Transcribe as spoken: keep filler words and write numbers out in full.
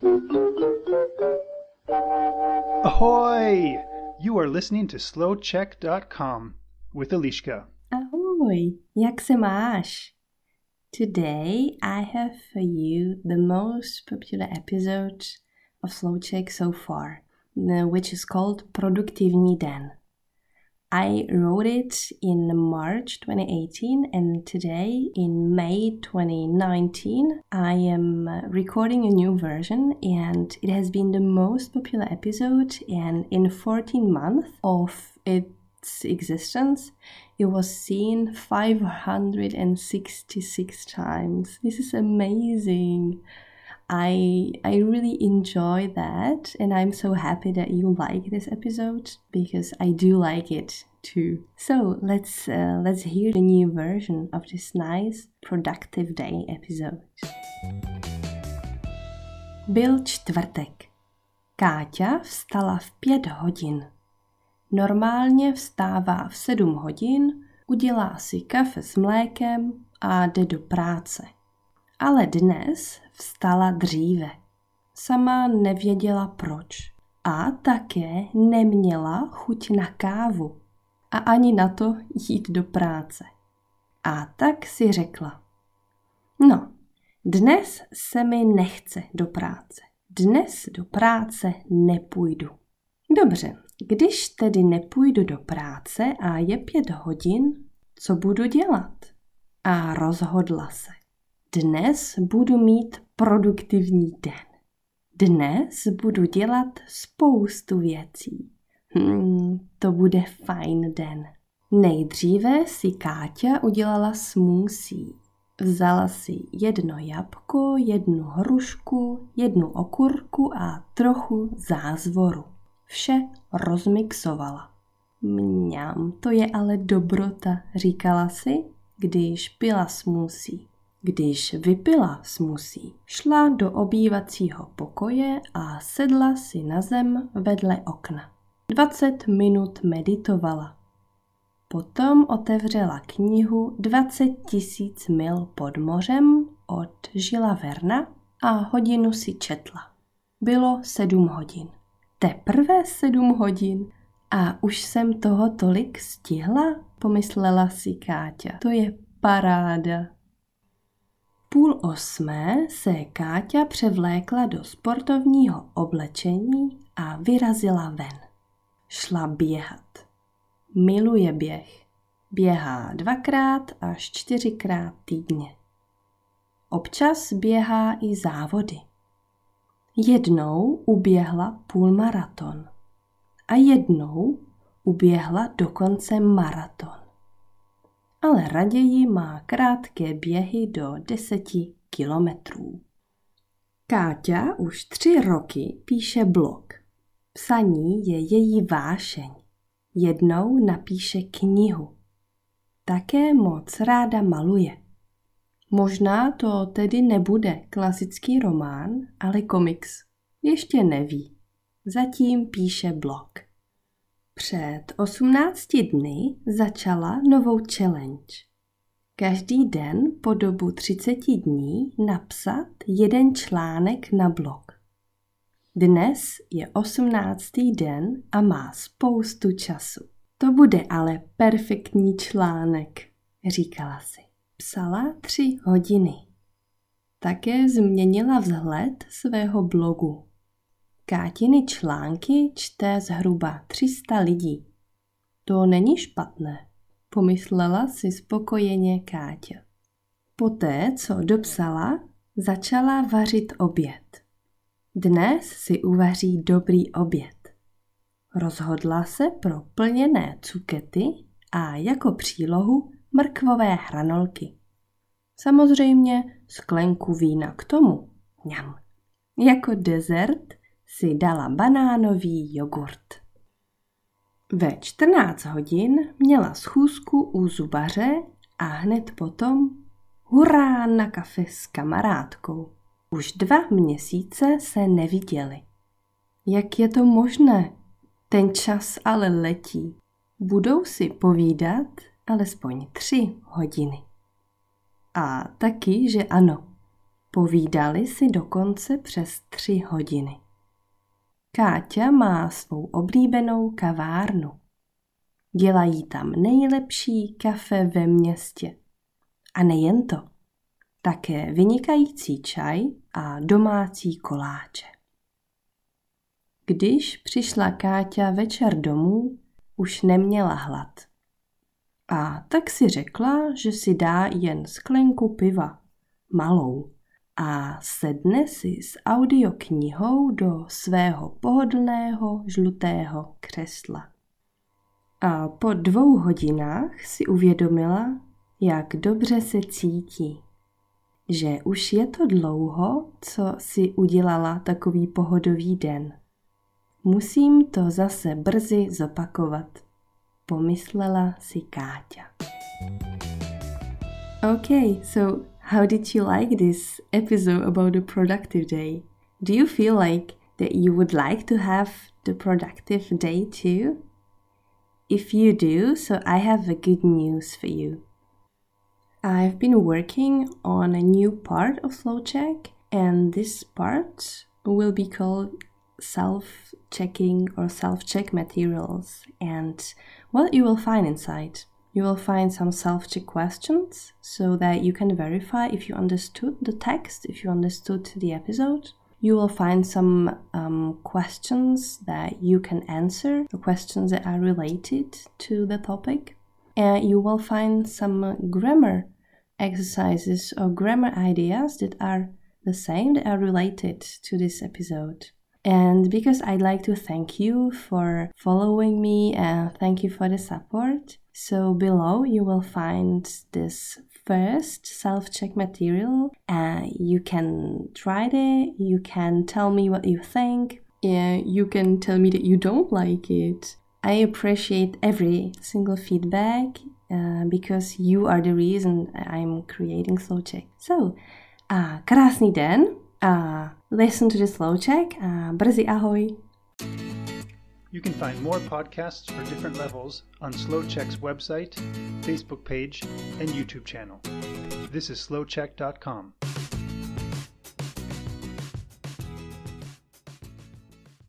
Ahoy! You are listening to slow check dot com with Eliška. Ahoj, jak se máš? Today I have for you the most popular episode of Slowcheck so far, which is called Produktivní den. I wrote it in March twenty eighteen, and today in May twenty nineteen I am recording a new version, and it has been the most popular episode, and in fourteen months of its existence it was seen five hundred sixty-six times. This is amazing. I I really enjoy that, and I'm so happy that you like this episode because I do like it too. So let's uh, let's hear the new version of this nice productive day episode. Byl čtvrtek. Káťa vstala v pět hodin. Normálně vstává v sedm hodin, udělá si kafe s mlékem a jde do práce. Ale dnes vstala dříve. Sama nevěděla proč. A také neměla chuť na kávu. A ani na to jít do práce. A tak si řekla. No, dnes se mi nechce do práce. Dnes do práce nepůjdu. Dobře, když tedy nepůjdu do práce a je pět hodin, co budu dělat? A rozhodla se. Dnes budu mít produktivní den. Dnes budu dělat spoustu věcí. Hmm, to bude fajn den. Nejdříve si Káťa udělala smoothie. Vzala si jedno jabko, jednu hrušku, jednu okurku a trochu zázvoru. Vše rozmixovala. Mňam, to je ale dobrota, říkala si, když pila smoothie. Když vypila smoothie, šla do obývacího pokoje a sedla si na zem vedle okna. dvacet minut meditovala. Potom otevřela knihu dvacet tisíc mil pod mořem od Žila Verna a hodinu si četla. Bylo sedm hodin. Teprve sedm hodin a už jsem toho tolik stihla, pomyslela si Káťa. To je paráda. Půl osmé se Káťa převlékla do sportovního oblečení a vyrazila ven. Šla běhat. Miluje běh. Běhá dvakrát až čtyřikrát týdně. Občas běhá i závody. Jednou uběhla půlmaraton a jednou uběhla dokonce maraton. Ale raději má krátké běhy do deseti kilometrů. Káťa už tři roky píše blog. Psaní je její vášeň. Jednou napíše knihu. Také moc ráda maluje. Možná to tedy nebude klasický román, ale komiks. Ještě neví. Zatím píše blog. Před osmnácti dny začala novou challenge. Každý den po dobu třiceti dní napsat jeden článek na blog. Dnes je osmnáctý den a má spoustu času. To bude ale perfektní článek, říkala si. Psala tři hodiny. Také změnila vzhled svého blogu. Kátiny články čte zhruba tři sta lidí. To není špatné, pomyslela si spokojeně Káťa. Poté, co dopsala, začala vařit oběd. Dnes si uvaří dobrý oběd. Rozhodla se pro plněné cukety a jako přílohu mrkvové hranolky. Samozřejmě sklenku vína k tomu. Mňam. Jako dezert si dala banánový jogurt. Ve čtrnáct hodin měla schůzku u zubaře a hned potom hurá na kafe s kamarádkou. Už dva měsíce se neviděli. Jak je to možné? Ten čas ale letí. Budou si povídat alespoň tři hodiny. A taky, že ano. Povídali si dokonce přes tři hodiny. Káťa má svou oblíbenou kavárnu. Dělají tam nejlepší kafe ve městě. A nejen to, také vynikající čaj a domácí koláče. Když přišla Káťa večer domů, už neměla hlad. A tak si řekla, že si dá jen sklenku piva, malou, a sedne si s audioknihou do svého pohodlného žlutého křesla. A po dvou hodinách si uvědomila, jak dobře se cítí. Že už je to dlouho, co si udělala takový pohodový den. Musím to zase brzy zopakovat, pomyslela si Káťa. Okay, so how did you like this episode about the productive day? Do you feel like that you would like to have the productive day too? If you do, so I have a good news for you. I've been working on a new part of SlowCheck, and this part will be called self-checking or self-check materials. And what you will find inside? You will find some self-check questions so that you can verify if you understood the text, if you understood the episode. You will find some um, questions that you can answer, the questions that are related to the topic. And you will find some grammar exercises or grammar ideas that are the same, that are related to this episode. And because I'd like to thank you for following me and thank you for the support, so below you will find this first self-check material, and you can try it, you can tell me what you think, and you can tell me that you don't like it. I appreciate every single feedback uh, because you are the reason I'm creating SlowCheck. So, uh, krásný den, uh, listen to the SlowCheck, uh, brzy ahoj. You can find more podcasts for different levels on SlowCheck's website, Facebook page, and YouTube channel. This is slowcheck dot com.